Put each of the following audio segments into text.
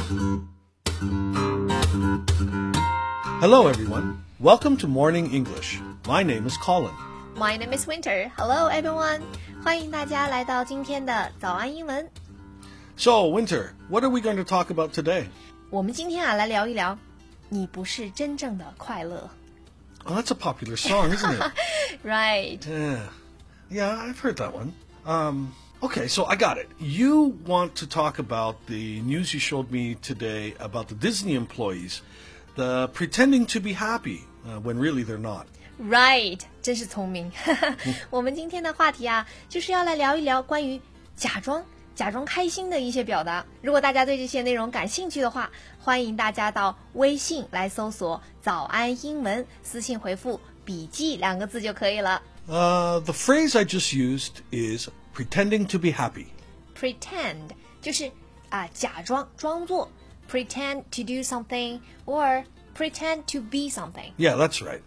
Hello, everyone. Welcome to Morning English. My name is Colin. My name is Winter. Hello, everyone. 欢迎大家来到今天的早安英文。 So, Winter, what are we going to talk about today? 我们今天来聊一聊，你不是真正的快乐。 Oh, that's a popular song, isn't it? Right. Yeah, I've heard that one. Okay, so I got it. You want to talk about the news you showed me today about the Disney employees, the pretending to be happy when really they're not. Right. 真是聪明。我们今天的话题啊，就是要来聊一聊关于假装开心的一些表达。如果大家对这些内容感兴趣的话，欢迎大家到微信来搜索早安英文，私信回复笔记2个字就可以了。 The phrase I just used is pretending to be happy. Pretend 就是假装作 pretend to do something or pretend to be something. Yeah, that's right.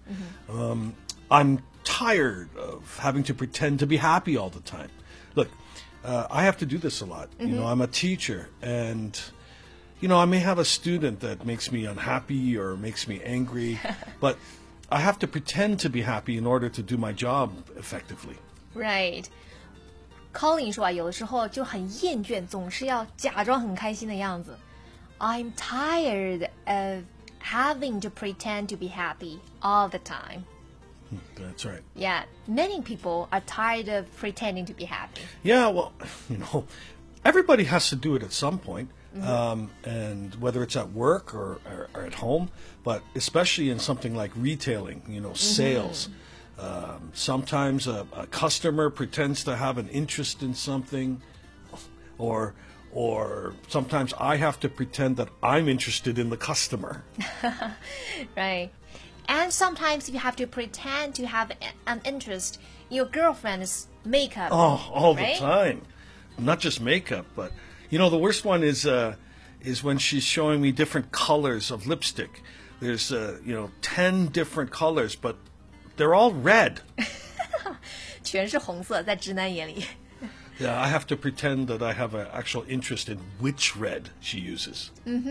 I'm tired of having to pretend to be happy all the time. Look, I have to do this a lot. You know, I'm a teacher, and I may have a student that makes me unhappy or makes me angry, but I have to pretend to be happy in order to do my job effectively. Right. Colin 说有的时候就很厌倦，总是要假装很开心的样子。I'm tired of having to pretend to be happy all the time. That's right. Yeah, many people are tired of pretending to be happy. Yeah, well, everybody has to do it at some point. And whether it's at work or at home, but especially in something like retailing, sales. Sometimes a customer pretends to have an interest in something, or sometimes I have to pretend that I'm interested in the customer. Right. And sometimes you have to pretend to have an interest in your girlfriend's makeup. Oh, all right? the time. Not just makeup, but the worst one is when she's showing me different colors of lipstick. There's 10 different colors, but they're all red. 全是红色，在直男眼里。 Yeah, I have to pretend that I have an actual interest in which red she uses.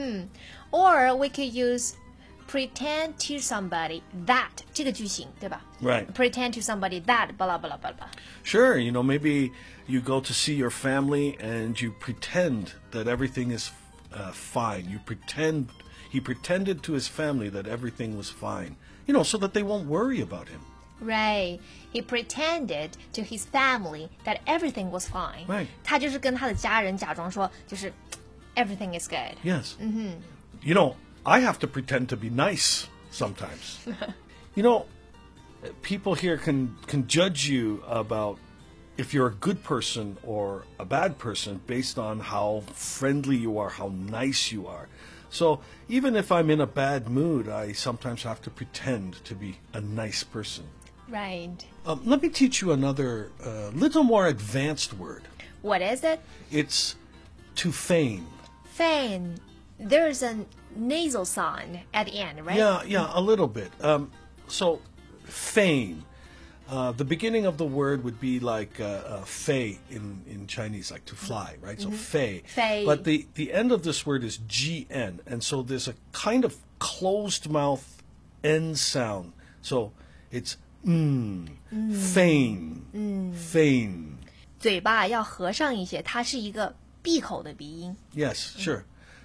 Or we could use pretend to somebody that 这个句型，对吧？ Right. Pretend to somebody that blah blah blah blah. Sure, maybe you go to see your family and you pretend that everything is fine. He pretended to his family that everything was fine, so that they won't worry about him. Right. He pretended to his family that everything was fine. Right. 他就是跟他的家人假装说，就是 everything is good. Yes. I have to pretend to be nice sometimes. People here can judge you about if you're a good person or a bad person based on how friendly you are, how nice you are. So even if I'm in a bad mood, I sometimes have to pretend to be a nice person. Right. Let me teach you another little more advanced word. What is it? It's to feign. Feign. There's a nasal sound at the end, right? Yeah, a little bit. So feign. The beginning of the word would be like fei in Chinese, like to fly, right? So fei. Fei. But the end of this word is gn, and so there's a kind of closed mouth end sound. So it's feign, feign. 嘴巴要合上一些，它是一个闭口的鼻音。 Yes, sure.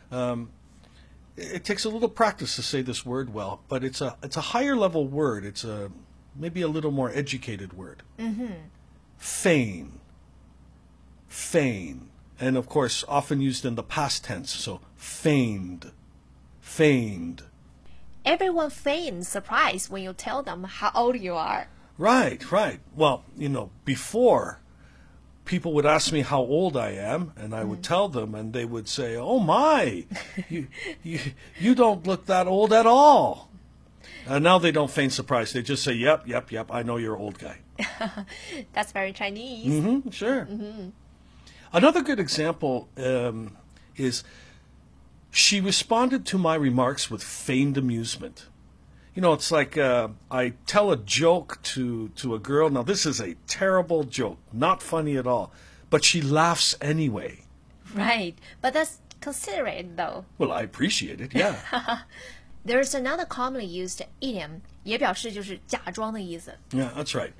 It takes a little practice to say this word well, but it's a higher level word. It's maybe a little more educated word. Feign. Feign. And of course, often used in the past tense. So feigned. Feigned. Everyone feigns surprise when you tell them how old you are. Right. Well, before, people would ask me how old I am, and I would tell them, and they would say, "Oh my, you don't look that old at all." Now they don't feign surprise. They just say, "Yep, I know you're an old guy." That's very Chinese. Sure. Another good example is she responded to my remarks with feigned amusement. It's like I tell a joke to a girl. Now, this is a terrible joke, not funny at all, but she laughs anyway. Right, but that's considerate though. Well, I appreciate it, yeah. There's another commonly used idiom, 也表示就是假装的意思。 Yeah, that's right.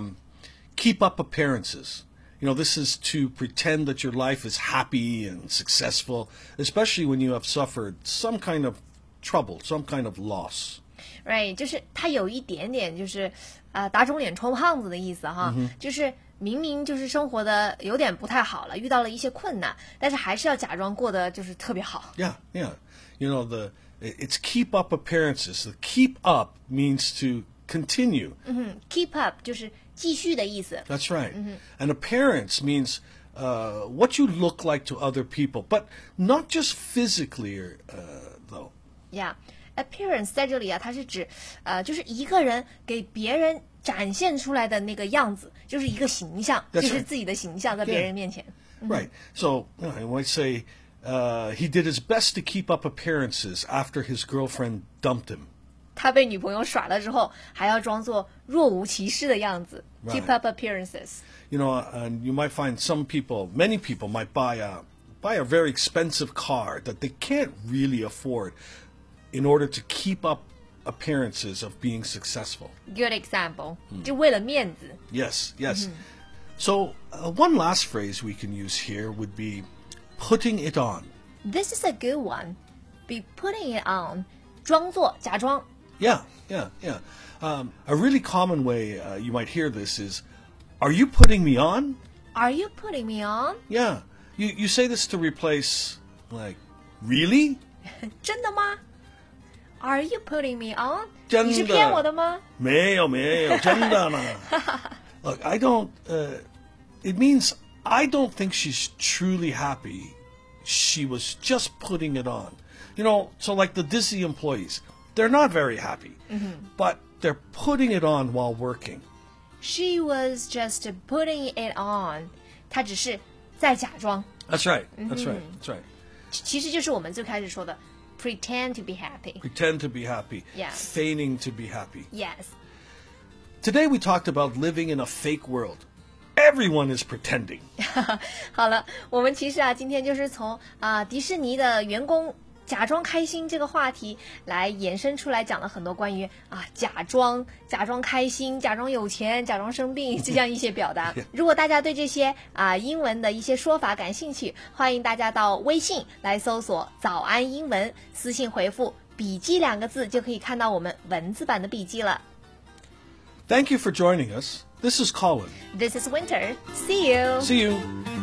Keep up appearances. You know, this is to pretend that your life is happy and successful, especially when you have suffered some kind of trouble, some kind of loss. Right， 就是它有一点点就是打肿脸充胖子的意思哈，就是明明就是生活的有点不太好了，遇到了一些困难，但是还是要假装过得就是特别好。 Yeah, yeah. You know, it's keep up appearances. The keep up means to continue. Keep up 就是继续的意思。 That's right. And appearance means what you look like to other people, but not just physically, though. Yeah，appearance 在这里啊，它是指就是一个人给别人展现出来的那个样子，就是一个形象， That's right. 就是自己的形象在别人面前。 Right. So I might say he did his best to keep up appearances after his girlfriend dumped him. 他被女朋友耍了之后，还要装作若无其事的样子 Right. ，keep up appearances。 You know, and you might find many people might buy a very expensive car that they can't really afford in order to keep up appearances of being successful. Good example， 就为了面子。 Yes, yes. So one last phrase we can use here would be putting it on. This is a good one. Be putting it on， 装作假装。 Yeah, yeah, yeah. A really common way you might hear this is, "Are you putting me on?" Are you putting me on？ Yeah. You say this to replace, like, really? 真的吗 ？Are you putting me on？ 真的。 你是骗我的吗？ 没有，真的呢。Look, I don't. It means I don't think she's truly happy. She was just putting it on. You know, so like the Disney employees, they're not very happy, but they're putting it on while working. She was just putting it on， 她只是在假装。 That's right. That's right. That's right. 其实就是我们最开始说的 pretend to be happy。 Pretend to be happy. Yeah. Feigning to be happy. Yes， Today we talked about living in a fake world. Everyone is pretending. 好了，我们其实啊，今天就是从迪士尼的员工假装开心这个话题来延伸出来，讲了很多关于假装开心、假装有钱、假装生病这样一些表达。如果大家对这些英文的一些说法感兴趣，欢迎大家到微信来搜索“早安英文”，私信回复“笔记”2个字，就可以看到我们文字版的笔记了。 Thank you for joining us. This is Colin. This is Winter. See you. See you.